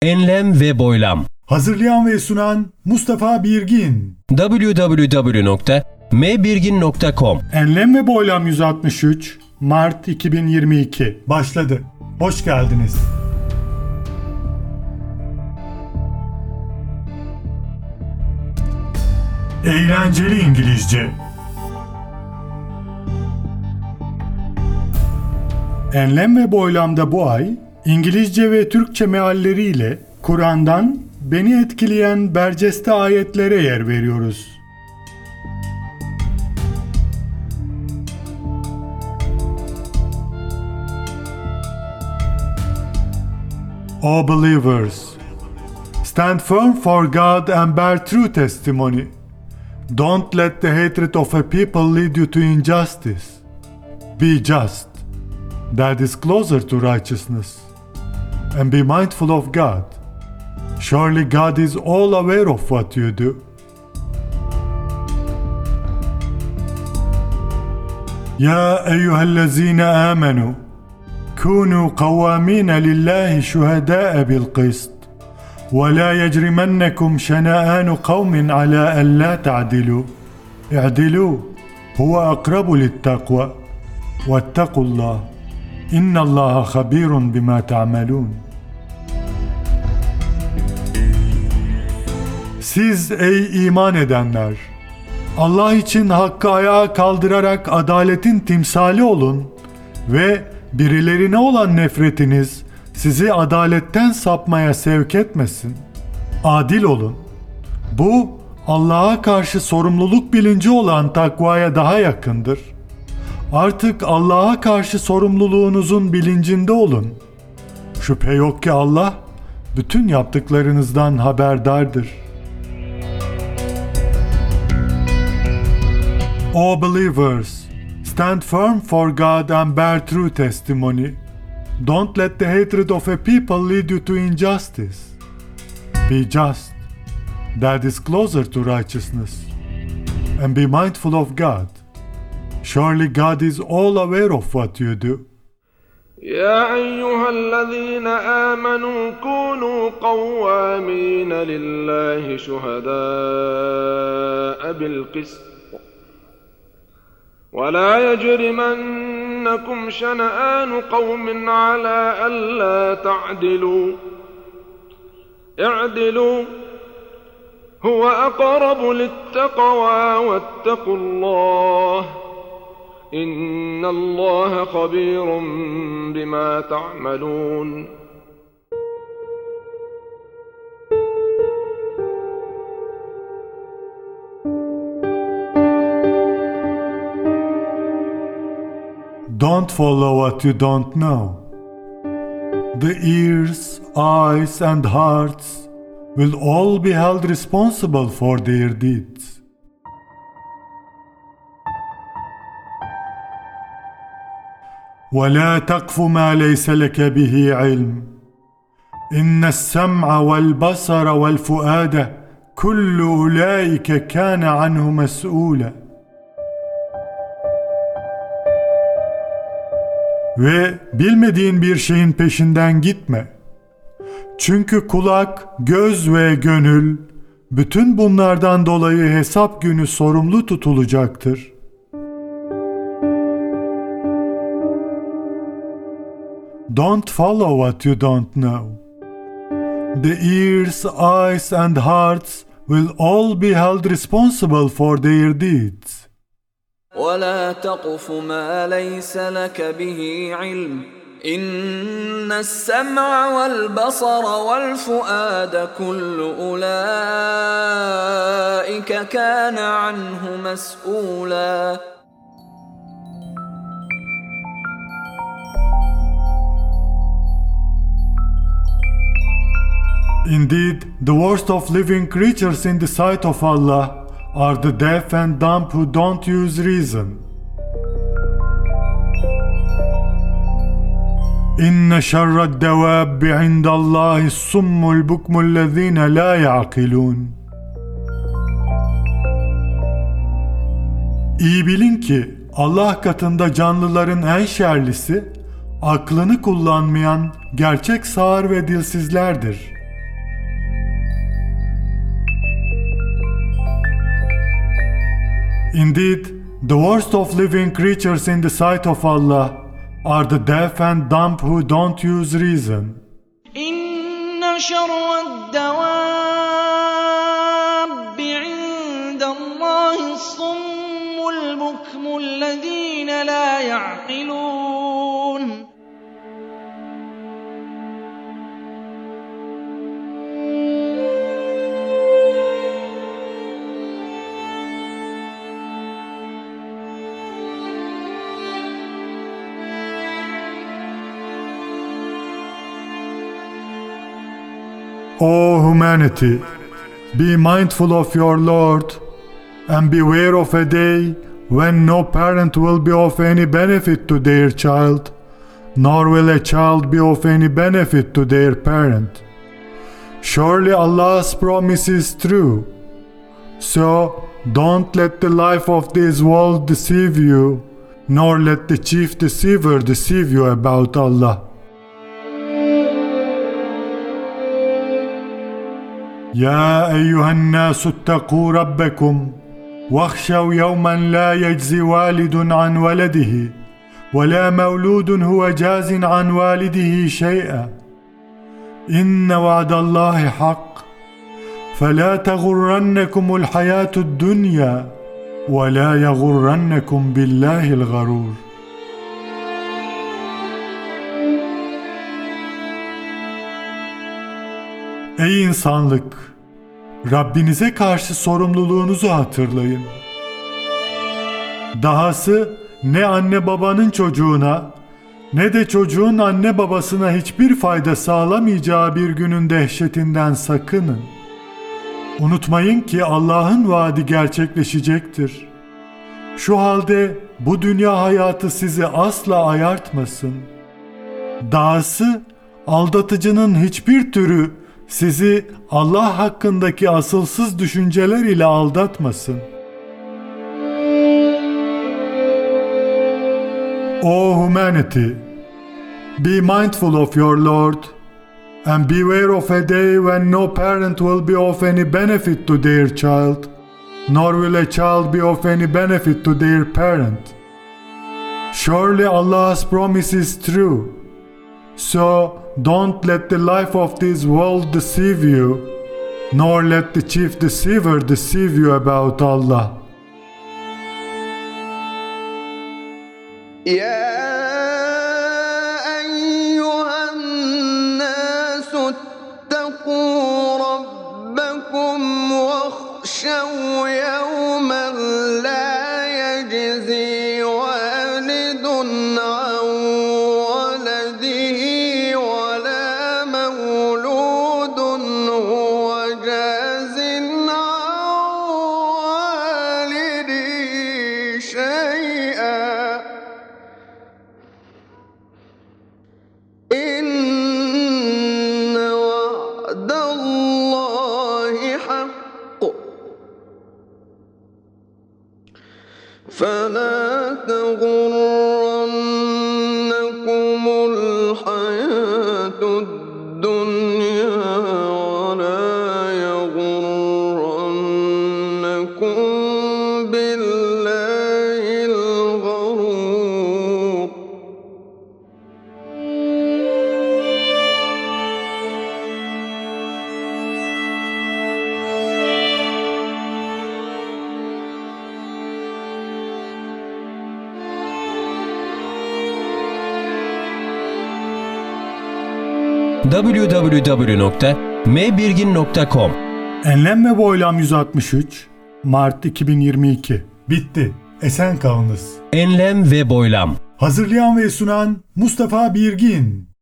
Enlem ve boylam. Hazırlayan ve sunan Mustafa Birgin. www.mbirgin.com. Enlem ve Boylam 163 Mart 2022 başladı. Hoş geldiniz. Eğlenceli İngilizce. Enlem ve Boylam'da bu ay İngilizce ve Türkçe mealleriyle Kur'an'dan beni etkileyen berceste ayetlere yer veriyoruz. O believers, stand firm for God and bear true testimony. Don't let the hatred of a people lead you to injustice. Be just. That is closer to righteousness. And be mindful of God. Surely God is all aware of what you do. يا أيها الذين آمنوا كونوا قوامين لله شهداء بالقسط ولا يجرمنكم شنآن قوم على ألا تعدلوا اعدلوا هو أقرب للتقوى واتقوا الله إن الله خبير بما تعملون. Siz ey iman edenler! Allah için hakkı ayağa kaldırarak adaletin timsali olun ve birilerine olan nefretiniz sizi adaletten sapmaya sevk etmesin. Adil olun. Bu Allah'a karşı sorumluluk bilinci olan takvaya daha yakındır. Artık Allah'a karşı sorumluluğunuzun bilincinde olun. Şüphe yok ki Allah bütün yaptıklarınızdan haberdardır. O believers, stand firm for God and bear true testimony. Don't let the hatred of a people lead you to injustice. Be just. That is closer to righteousness. And be mindful of God. Surely God is all aware of what you do. يا أيها الذين آمنوا كونوا قوامين لله شهداء بالقسط ولا يجرمنكم شنآن قوم على ألا تعدلوا اعدلوا هو أقرب للتقوى واتقوا الله إن الله خبير بما تعملون. Don't follow what you don't know. The ears, eyes, and hearts will all be held responsible for their deeds. ولا تقف ما ليس لك به علم إن السمع والبصر والفؤاد كل أولئك كان عنه مسؤولا. Ve bilmediğin bir şeyin peşinden gitme. Çünkü kulak, göz ve gönül bütün bunlardan dolayı hesap günü sorumlu tutulacaktır. Don't follow what you don't know. The ears, eyes, and hearts will all be held responsible for their deeds. ولا تقف ما ليس لك به علم إن السمع والبصر والفؤاد كل أولئك كان عنه مسؤولا. Indeed, the worst of living creatures in the sight of Allah are the deaf and dumb who don't use reason. إن شر الدواب عند الله الصم البكم الذين لا يعقلون. İyi bilin ki Allah katında canlıların en şerlisi, aklını kullanmayan gerçek sağır ve dilsizlerdir. Indeed, the worst of living creatures in the sight of Allah are the deaf and dumb who don't use reason. إن شر الدواب عند الله الصم البكم الذين لا يعقلون. O humanity, be mindful of your Lord and beware of a day when no parent will be of any benefit to their child, nor will a child be of any benefit to their parent. Surely Allah's promise is true. So don't let the life of this world deceive you, nor let the chief deceiver deceive you about Allah. يا أيها الناس اتقوا ربكم واخشوا يوما لا يجزي والد عن ولده ولا مولود هو جاز عن والده شيئا إن وعد الله حق فلا تغرنكم الحياة الدنيا ولا يغرنكم بالله الغرور. Ey insanlık! Rabbinize karşı sorumluluğunuzu hatırlayın. Dahası ne anne babanın çocuğuna ne de çocuğun anne babasına hiçbir fayda sağlamayacağı bir günün dehşetinden sakının. Unutmayın ki Allah'ın vaadi gerçekleşecektir. Şu halde bu dünya hayatı sizi asla ayartmasın. Dahası aldatıcının hiçbir türü sizi Allah hakkındaki asılsız düşünceler ile aldatmasın. O humanity, be mindful of your Lord and beware of a day when no parent will be of any benefit to their child, nor will a child be of any benefit to their parent. Surely Allah's promise is true. So don't let the life of this world deceive you, nor let the chief deceiver deceive you about Allah. يا أيها الناس اتقوا ربكم واخشوا يوما لا يجزي والد عن ولده ولا مولود هو جاز عن والده شيئا إن وعد الله حق فلا تغرنكم الحياة الدنيا ولا يغرنكم بالله الغرور. www.mbirgin.com Enlem ve Boylam 163 Mart 2022 Bitti. Esen kalınız. Enlem ve Boylam. Hazırlayan ve sunan Mustafa Birgin.